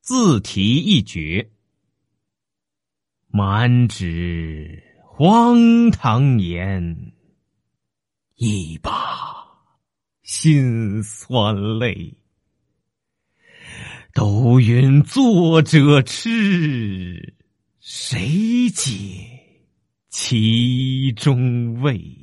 自题一绝。满纸荒唐言，一把辛酸泪。都云作者痴，谁解其中味？